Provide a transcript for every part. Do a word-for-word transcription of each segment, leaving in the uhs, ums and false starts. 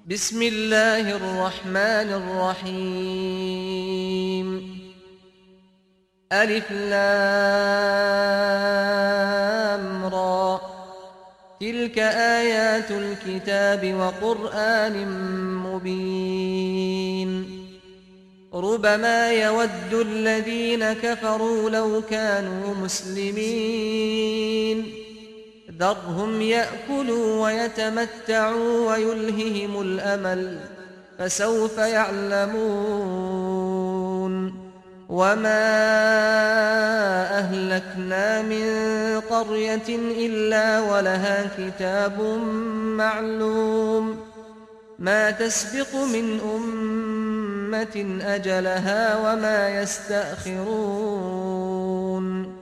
بسم الله الرحمن الرحيم ألف لام را تلك آيات الكتاب وقرآن مبين ربما يود الذين كفروا لو كانوا مسلمين ذرهم يأكلوا ويتمتعوا ويلههم الأمل فسوف يعلمون وما أهلكنا من قرية إلا ولها كتاب معلوم ما تسبق من أمة أجلها وما يستأخرون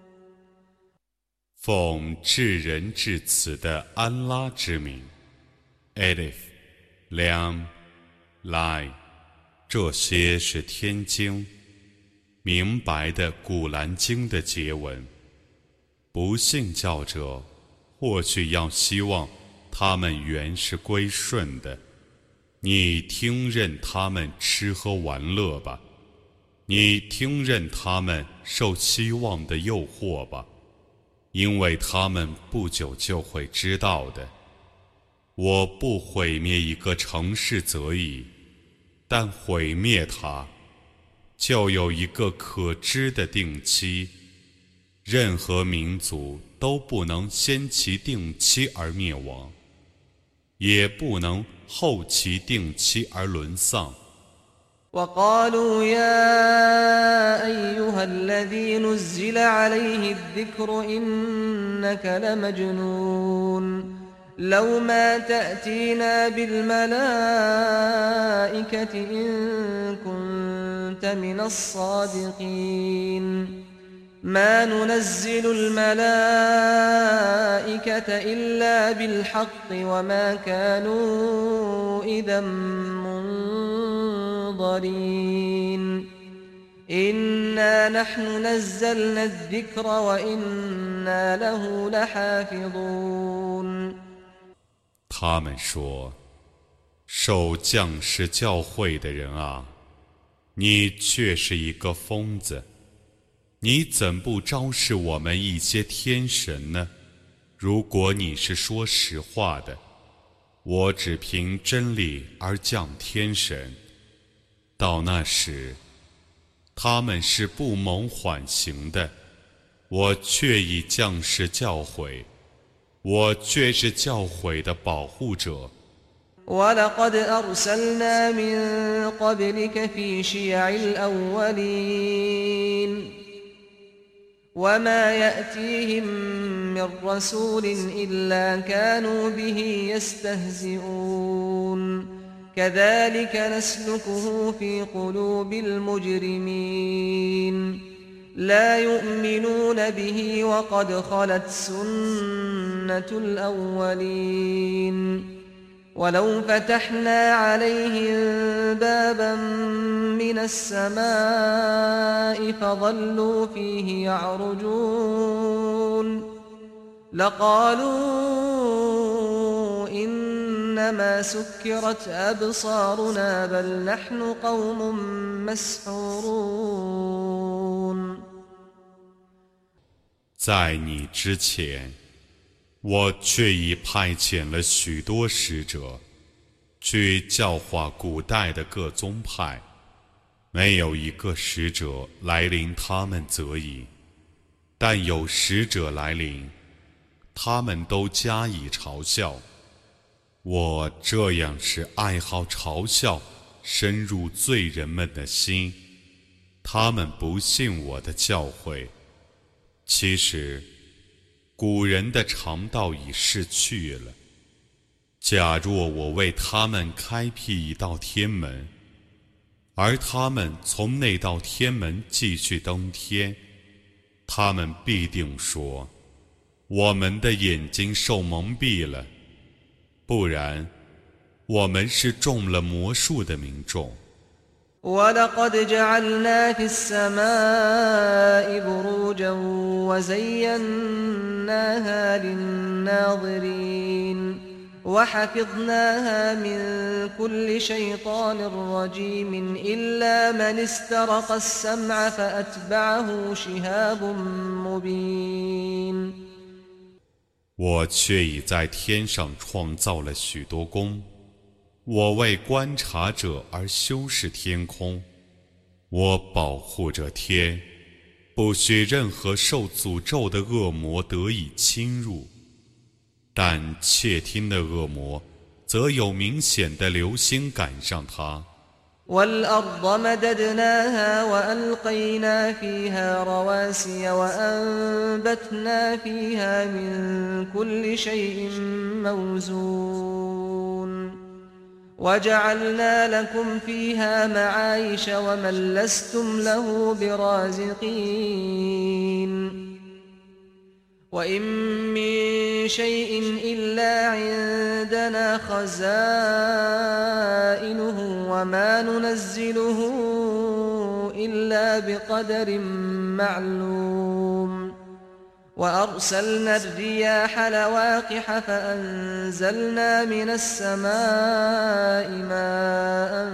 奉至仁至慈的安拉之名 ，Alif Lam Lai， 这些是天经明白的古兰经的结文。不信教者或许要希望他们原是归顺的，你听任他们吃喝玩乐吧，你听任他们受希望的诱惑吧。因为他们不久就会知道的。我不毁灭一个城市则已，但毁灭它，就有一个可知的定期。任何民族都不能先其定期而灭亡，也不能后其定期而沦丧。 وقالوا يا أيها الذي نزل عليه الذكر إنك لمجنون لو ما تأتينا بالملائكة إن كنت من الصادقين ما ننزل الملائكة إلا بالحق وما كانوا إذا منظرين إنا نحن نزلنا الذكر وإنا له لحافظون 他们说：“受降世教诲的人啊，你却是一个疯子。你怎不昭示我们一些天神呢？如果你是说实话的，我只凭真理而降天神。到那时，他们是不蒙缓刑的，我却已降世教诲，我却是教诲的保护者。” ولقد أرسلنا من قبلك في شيع الأولين وما يأتيهم من رسول إلا كانوا به يستهزئون كذلك نسلكه في قلوب المجرمين لا يؤمنون به وقد خلت سنة الأولين ولو فتحنا عليهم بابا من السماء فظلوا فيه يعرجون لقالوا إنما سكرت أبصارنا بل نحن قوم مسحورون 在你之前，我却已派遣了许多使者，去教化古代的各宗派，没有一个使者来临他们则已，但有使者来临，他们都加以嘲笑。我这样使爱好嘲笑深入罪人们的心，他们不信我的教诲。其实古人的常道已逝去了。假若我为他们开辟一道天门，而他们从那道天门继续登天，他们必定说：“我们的眼睛受蒙蔽了。”不然，我们是中了魔术的民众。 ولقد جعلنا في السماء بروجا وزيناها للناظرين وحفظناها من كل شيطان رجيم إلا من استرق السمع فأتبعه شهاب مبين 我却已在天上创造了许多宫，我为观察者而修饰天空，我保护着天，不许任何受诅咒的恶魔得以侵入。但窃听的恶魔则有明显的流星赶上他。 والأرض مددناها وألقينا فيها رواسي وأنبتنا فيها من كل شيء موزون وجعلنا لكم فيها معايش ومن لستم له برازقين وإن من شيء إلا عندنا خزائنه وما ننزله إلا بقدر معلوم وأرسلنا الرياح لواقح فأنزلنا من السماء ماء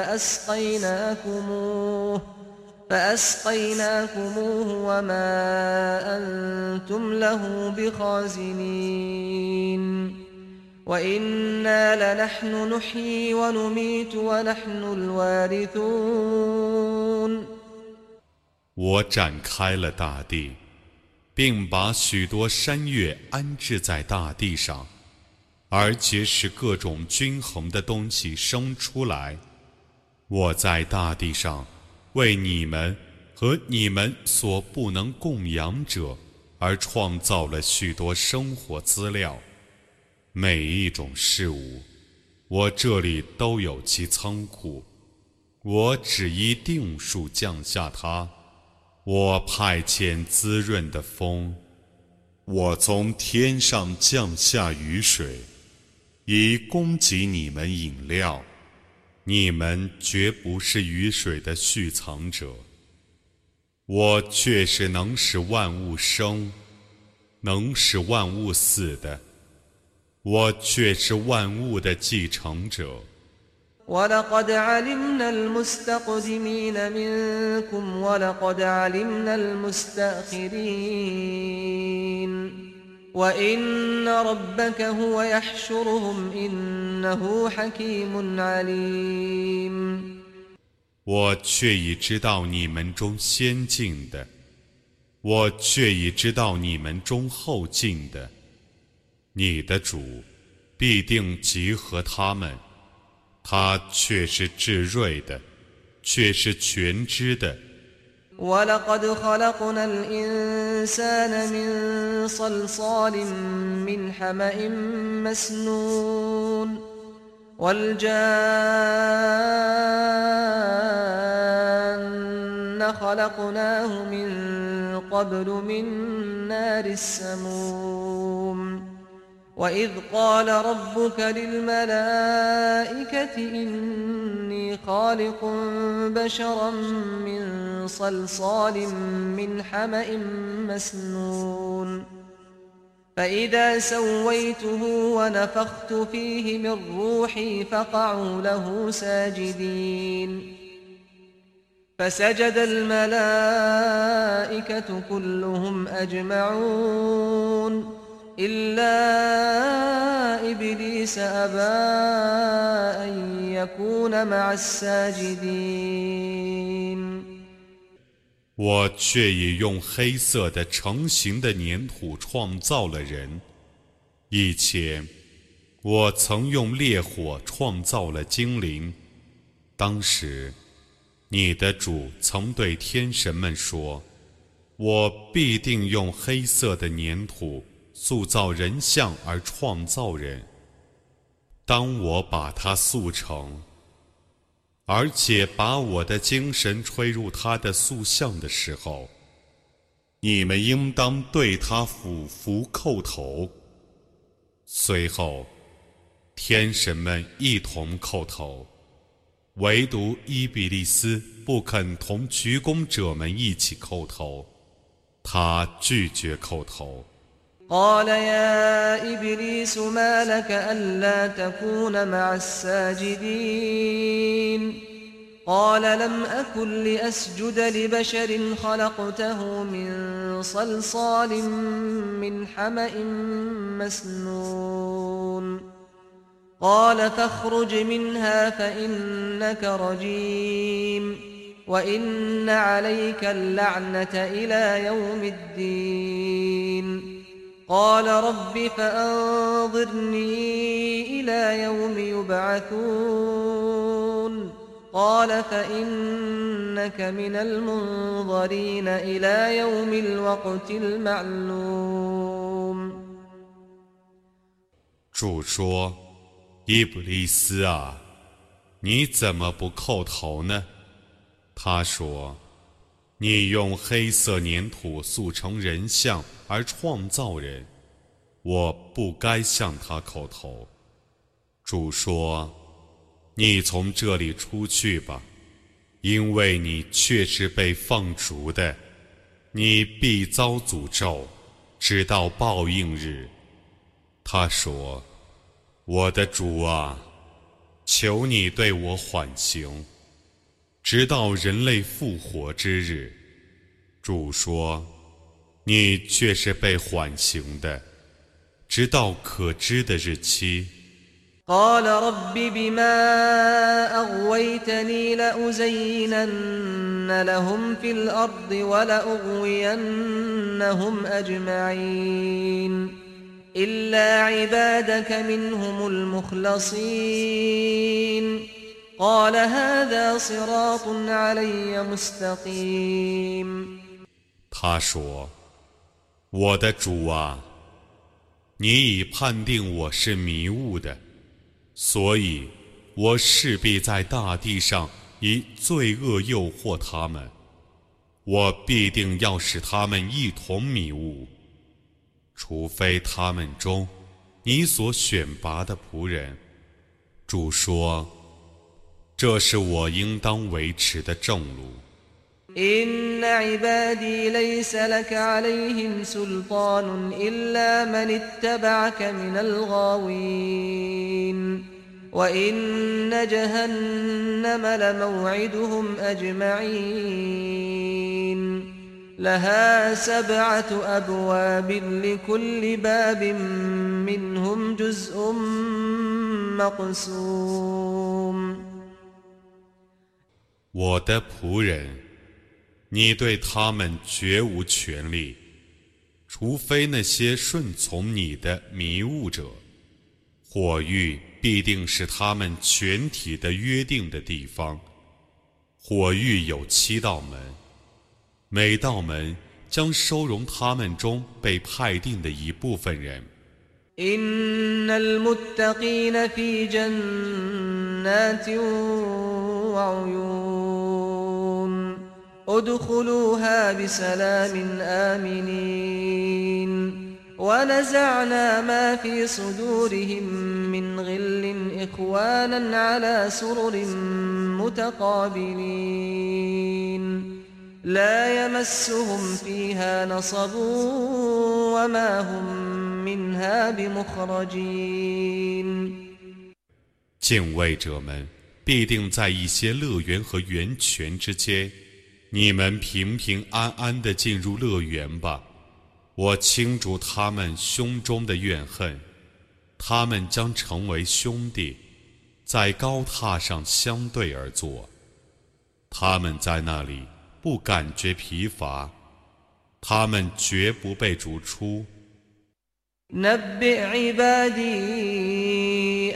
فأسقيناكموه فأسقيناكموه وما أنتم له بخازنين وإنا لنحن نحيي ونميت ونحن الوارثون 我展开了大地，并把许多山岳安置在大地上，而且使各种均衡的东西生出来。我在大地上为你们和你们所不能供养者而创造了许多生活资料，每一种事物，我这里都有其仓库。我只依定数降下它，我派遣滋润的风，我从天上降下雨水，以供给你们饮料。你们绝不是雨水的蓄藏者，我却是能使万物生，能使万物死的，我却是万物的继承者。 ولقد علمنا المستقدمين منكم ولقد علمنا المستأخرين وإن ربك هو يحشرهم إنه حكيم عليم 我却已知道你们中先进的，我却已知道你们中后进的。你的主必定集合他们，他却是智慧的，却是全知的。 ولقد خلقنا الإنسان من صلصال من حمأ مسنون والجان خلقناه من قبل من نار السموم وإذ قال ربك للملائكة إني خالق بشرا من صلصال من حمأ مسنون فإذا سويته ونفخت فيه من روحي فقعوا له ساجدين فسجد الملائكة كلهم أجمعون إلا إبليس أبى أن يكون مع الساجدين 我却已用黑色的成型的粘土创造了人。以前，我曾用烈火创造了精灵。当时，你的主曾对天神们说：“我必定用黑色的粘土塑造人像而创造人。当我把它塑成，而且把我的精神吹入他的塑像的时候，你们应当对他俯伏叩头。”随后，天神们一同叩头，唯独伊比利斯不肯同鞠躬者们一起叩头，他拒绝叩头。 قال يا إبليس ما لك ألا تكون مع الساجدين قال لم أكن لأسجد لبشر خلقته من صلصال من حمأ مسنون قال فاخرج منها فإنك رجيم وإن عليك اللعنة إلى يوم الدين قال رب فأنظرني إلى يوم يبعثون قال فإنك من المنظرين إلى يوم الوقت المعلوم 主说：“伊布利斯啊，你怎么不叩头呢？”他说：“你用黑色粘土塑成人像而创造人，我不该向他叩头。”主说：“你从这里出去吧，因为你却是被放逐的，你必遭诅咒，直到报应日。”他说：“我的主啊，求你对我缓刑，直到人类复活之日。”主说：“你却是被缓刑的，直到可知的日期。” قال رب بما أغويتني لأزينن لهم في الأرض ولأغوينهم أجمعين إلا عبادك منهم المخلصين قال هذا صراط علي مستقيم 他说：“我的主啊，你已判定我是迷雾的，所以我势必在大地上以罪恶诱惑他们，我必定要使他们一同迷雾，除非他们中你所选拔的仆人。”主说：“这是我应当维持的正路。” إن عبادي ليس لك عليهم سلطان إلا من اتبعك من الغاوين وإن جهنم لموعدهم أجمعين لها سبعة أبواب لكل باب منهم جزء مقسوم 我的仆人，你对他们绝无权利，除非那些顺从你的迷雾者。火狱必定是他们全体的约定的地方。火狱有七道门，每道门将收容他们中被派定的一部分人。 إن المتقين في جنات وعيون ادخلوها بسلام آمنين ونزعنا ما في صدورهم من غل إخوانا على سرر متقابلين لا يمسهم فيها نصب وما هم منها بمخرجين 敬畏者们必定在一些乐园和源泉之间，你们平平安安地进入乐园吧。我清除他们胸中的怨恨，他们将成为兄弟，在高榻上相对而坐。他们在那里不感觉疲乏，他们绝不被逐出。 نبئ عبادي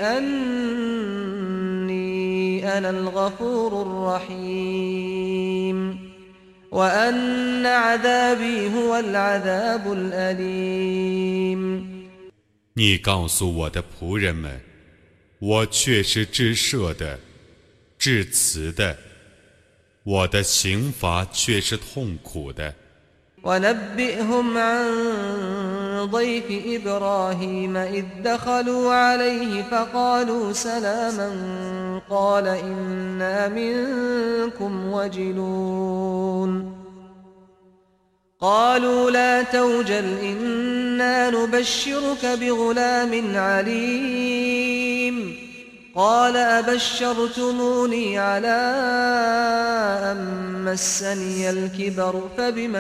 أني أنا الغفور الرحيم وأن عذابي هو العذاب الأليم 你告诉我的仆人们，我却是至赦的、至慈的，我的刑罚却是痛苦的。 ونبئهم عن ضيف إبراهيم إذ دخلوا عليه فقالوا سلاما قال إنا منكم وجلون قالوا لا توجل إنا نبشرك بغلام عليم قال أبشرتموني على أن مسني الكبر فبم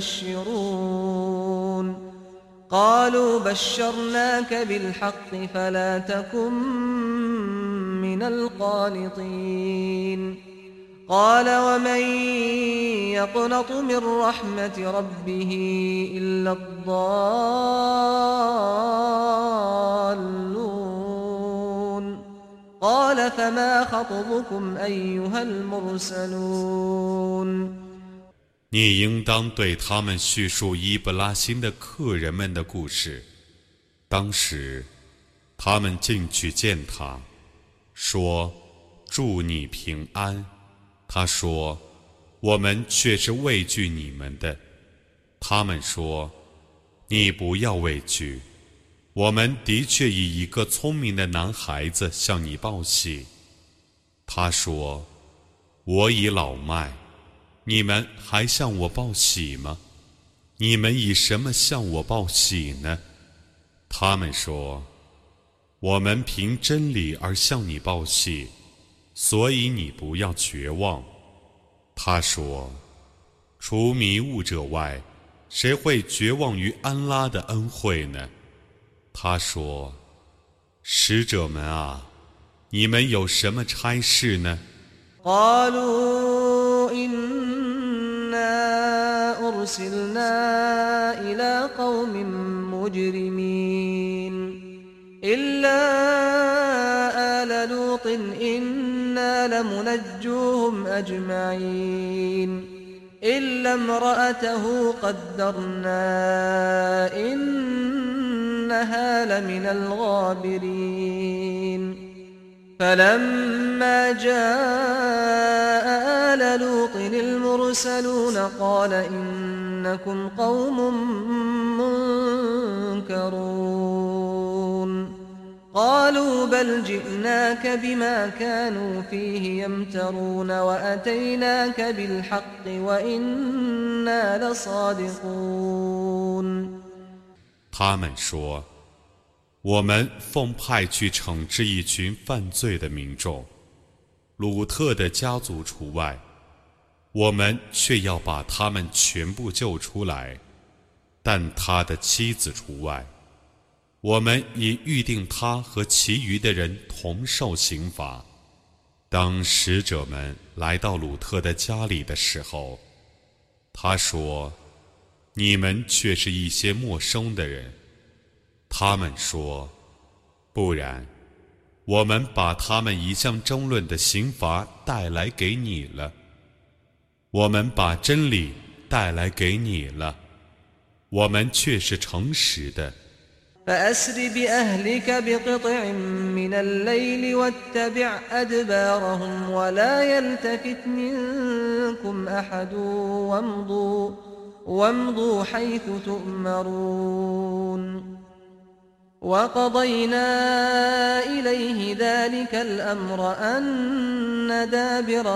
تبشرون قالوا بشرناك بالحق فلا تكن من القانطين قال ومن يقنط من رحمة ربه إلا الضالون قال فما خطبكم أيها المرسلون 你应当对他们叙述伊布拉欣的客人们的故事。当时，他们进去见他，说：“祝你平安。”他说：“我们却是畏惧你们的。”他们说：“你不要畏惧，我们的确以一个聪明的男孩子向你报喜。”他说：“我已老迈。”你们还向我报喜吗？你们以什么向我报喜呢？他们说：“我们凭真理而向你报喜，所以你不要绝望。”他说：“除迷雾者外，谁会绝望于安拉的恩惠呢？”他说：“使者们啊，你们有什么差事呢？” قالوا إنا أرسلنا إلى قوم مجرمين إلا آل لوط إنا لمنجوهم أجمعين إلا امرأته قدرنا إنها لمن الغابرين فلما جاء آل لوط المرسلون قال إنكم قوم منكرون قالوا بل جئناك بما كانوا فيه يمترون وأتيناك بالحق وإنا لصادقون 他们说：“我们奉派去惩治一群犯罪的民众，鲁特的家族除外，我们却要把他们全部救出来，但他的妻子除外。我们已预定他和其余的人同受刑罚。”当使者们来到鲁特的家里的时候，他说：“你们却是一些陌生的人。”他们说：“不然，我们把他们一向争论的刑罚带来给你了。我们把真理带来给你了，我们却是诚实的。” فأسر بأهلك بقطع من الليل واتبع أدبارهم ولا يلتفت منكم أحد وامضوا, وامضوا حيث تؤمرون وقضينا إليه ذلك الأمر أن دابر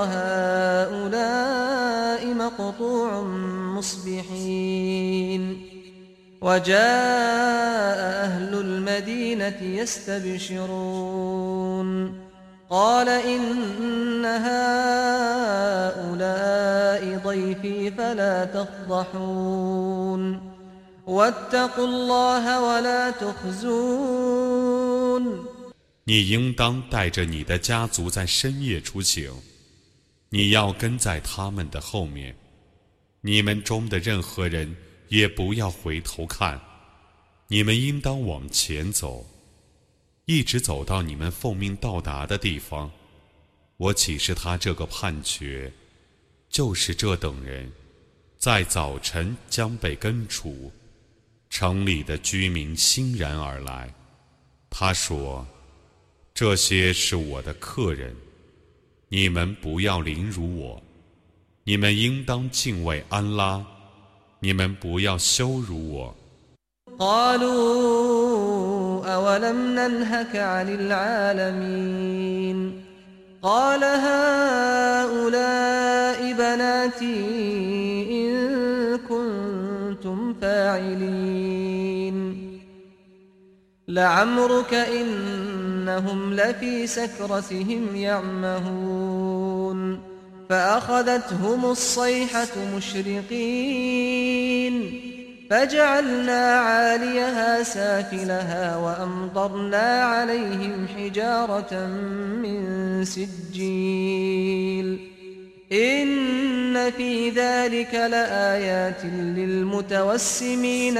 هؤلاء مقطوع مصبحين وجاء أهل المدينة يستبشرون قال إن هؤلاء ضيفي فلا تفضحون واتقوا الله ولا تخزون 你应当带着你的家族在深夜出行，你要跟在他们的后面，你们中的任何人也不要回头看，你们应当往前走，一直走到你们奉命到达的地方。我启示他这个判决，就是这等人在早晨将被根除，城里的居民欣然而来。他说：“这些是我的客人，你们不要凌辱我，你们应当敬畏安拉，你们不要羞辱我。” قالوا أولم ننهك عن العالمين قال هؤلاء بناتي إن كنتم فاعلين لعمرك إنهم لفي سكرتهم يعمهون فأخذتهم الصيحة مشرقين فجعلنا عاليها سافلها وأمطرنا عليهم حجارة من سجيل إن في ذلك لآيات للمتوسمين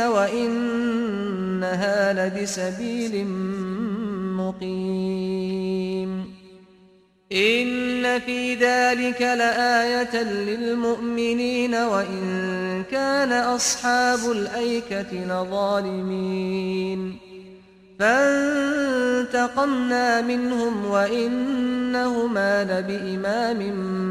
وإنها لبسبيل مقيم إن في ذلك لآية للمؤمنين وإن كان أصحاب الأيكة لظالمين فانتقمنا منهم وإنهما لبإمام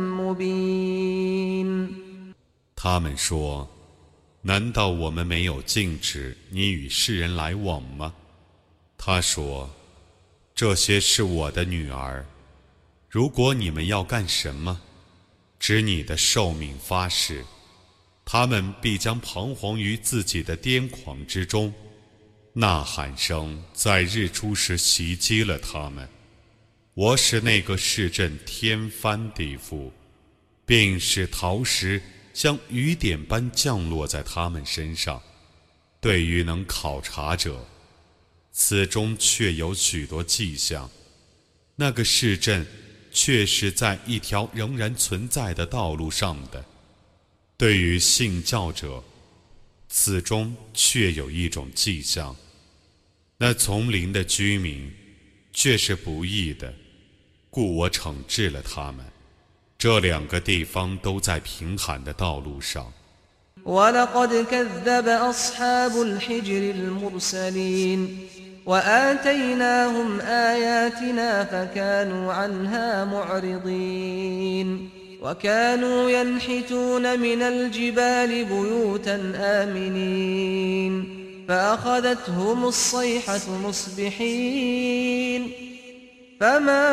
مبين 他们说：“难道我们没有禁止你与世人来往吗？”他说：“这些是我的女儿。如果你们要干什么，指你的寿命发誓，他们必将彷徨于自己的癫狂之中。呐喊声在日出时袭击了他们。我使那个市镇天翻地覆，并使陶石像雨点般降落在他们身上。对于能考察者，此中确有许多迹象。那个市镇确是在一条仍然存在的道路上的。对于信教者，此中确有一种迹象。那丛林的居民却是不义的，故我惩治了他们。这两个地方都在平坦的道路上。 ولقد كذب أصحاب الحجر المرسلين وآتيناهم آياتنا فكانوا عنها معرضين وكانوا ينحتون من الجبال بيوتا آمنين فأخذتهم الصيحة مصبحين فما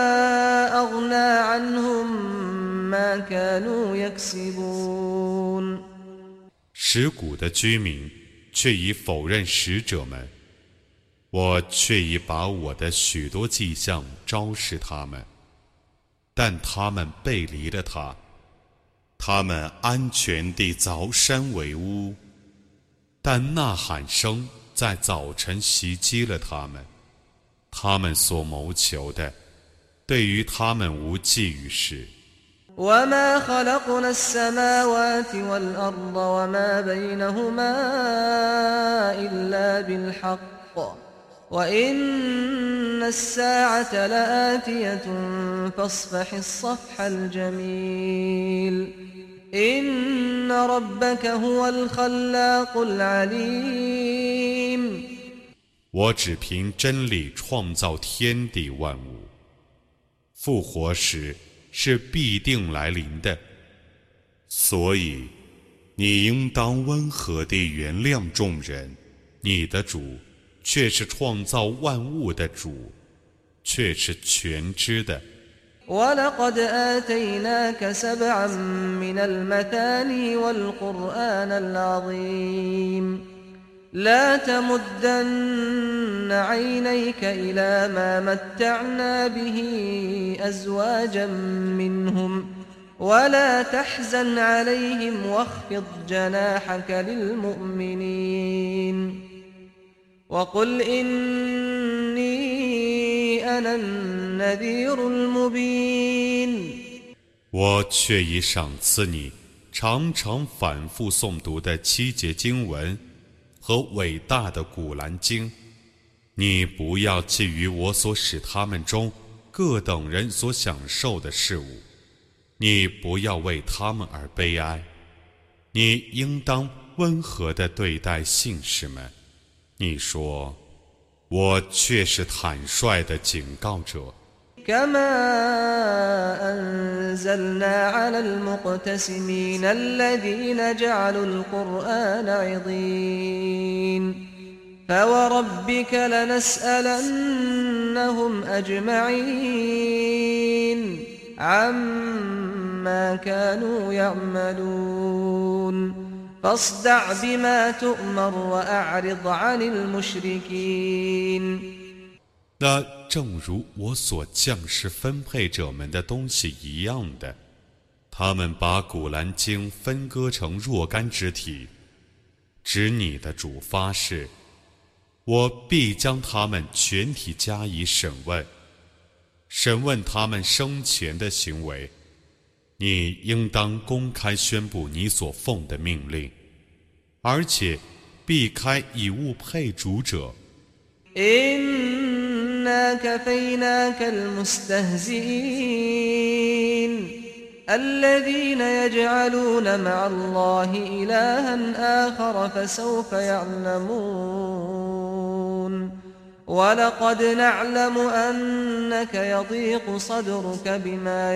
أغنى عنهم ما كانوا يكسبون 石谷的居民却已否认使者们，我却已把我的许多迹象昭示他们，但他们背离了他，他们安全地凿山为屋，但呐喊声在早晨袭击了他们，他们所谋求的对于他们无济于事。 وما خلقنا السماوات والأرض وما بينهما إلا بالحق وإن الساعة لآتية فاصفح الصفح الجميل إن ربك هو الخلاق العليم 我只凭真理创造天地万物，复活时是必定来临的，所以你应当温和地原谅众人。你的主却是创造万物的主，却是全知的。 ولقد آتيناك سبعا من المثاني والقرآن العظيم لا تمدن عينيك إلى ما متعنا به أزواجا منهم ولا تحزن عليهم واخفض جناحك للمؤمنين وقل إني أنا النذير المبين 我却已赏赐你常常反复诵读的七节经文和伟大的古兰经，你不要觊觎我所使他们中各等人所享受的事物，你不要为他们而悲哀，你应当温和地对待信士们。你说，我却是坦率的警告者。 كما أنزلنا على المقتسمين الذين جعلوا القرآن عضين فوربك لنسألنهم أجمعين عما كانوا يعملون فاصدع بما تؤمر وأعرض عن المشركين。 那正如我所降世分配者们的东西一样的，他们把古兰经分割成若干肢体，指你的主发誓，我必将他们全体加以审问，审问他们生前的行为。你应当公开宣布你所奉的命令，而且避开以物配主者。 إنا كفيناك المستهزئين الذين يجعلون مع الله إلها آخر فسوف يعلمون ولقد نعلم أنك يضيق صدرك بما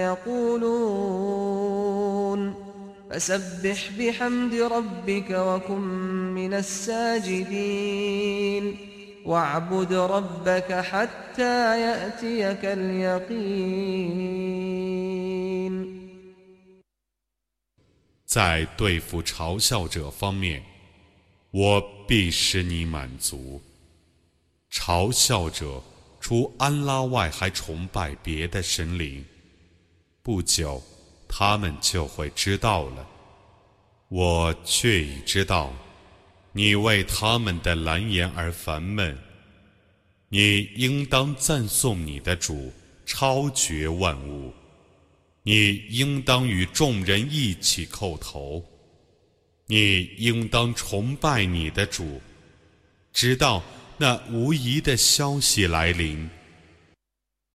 يقولون فسبح بحمد ربك وكن من الساجدين واعبد ربك حتى يأتيك اليقين。 在对付嘲笑者方面，我必使你满足。嘲笑者除安拉外还崇拜别的神灵，不久他们就会知道了。我却已知道，你为他们的蓝言而烦闷，你应当赞颂你的主，超绝万物。你应当与众人一起叩头，你应当崇拜你的主，直到那无疑的消息来临。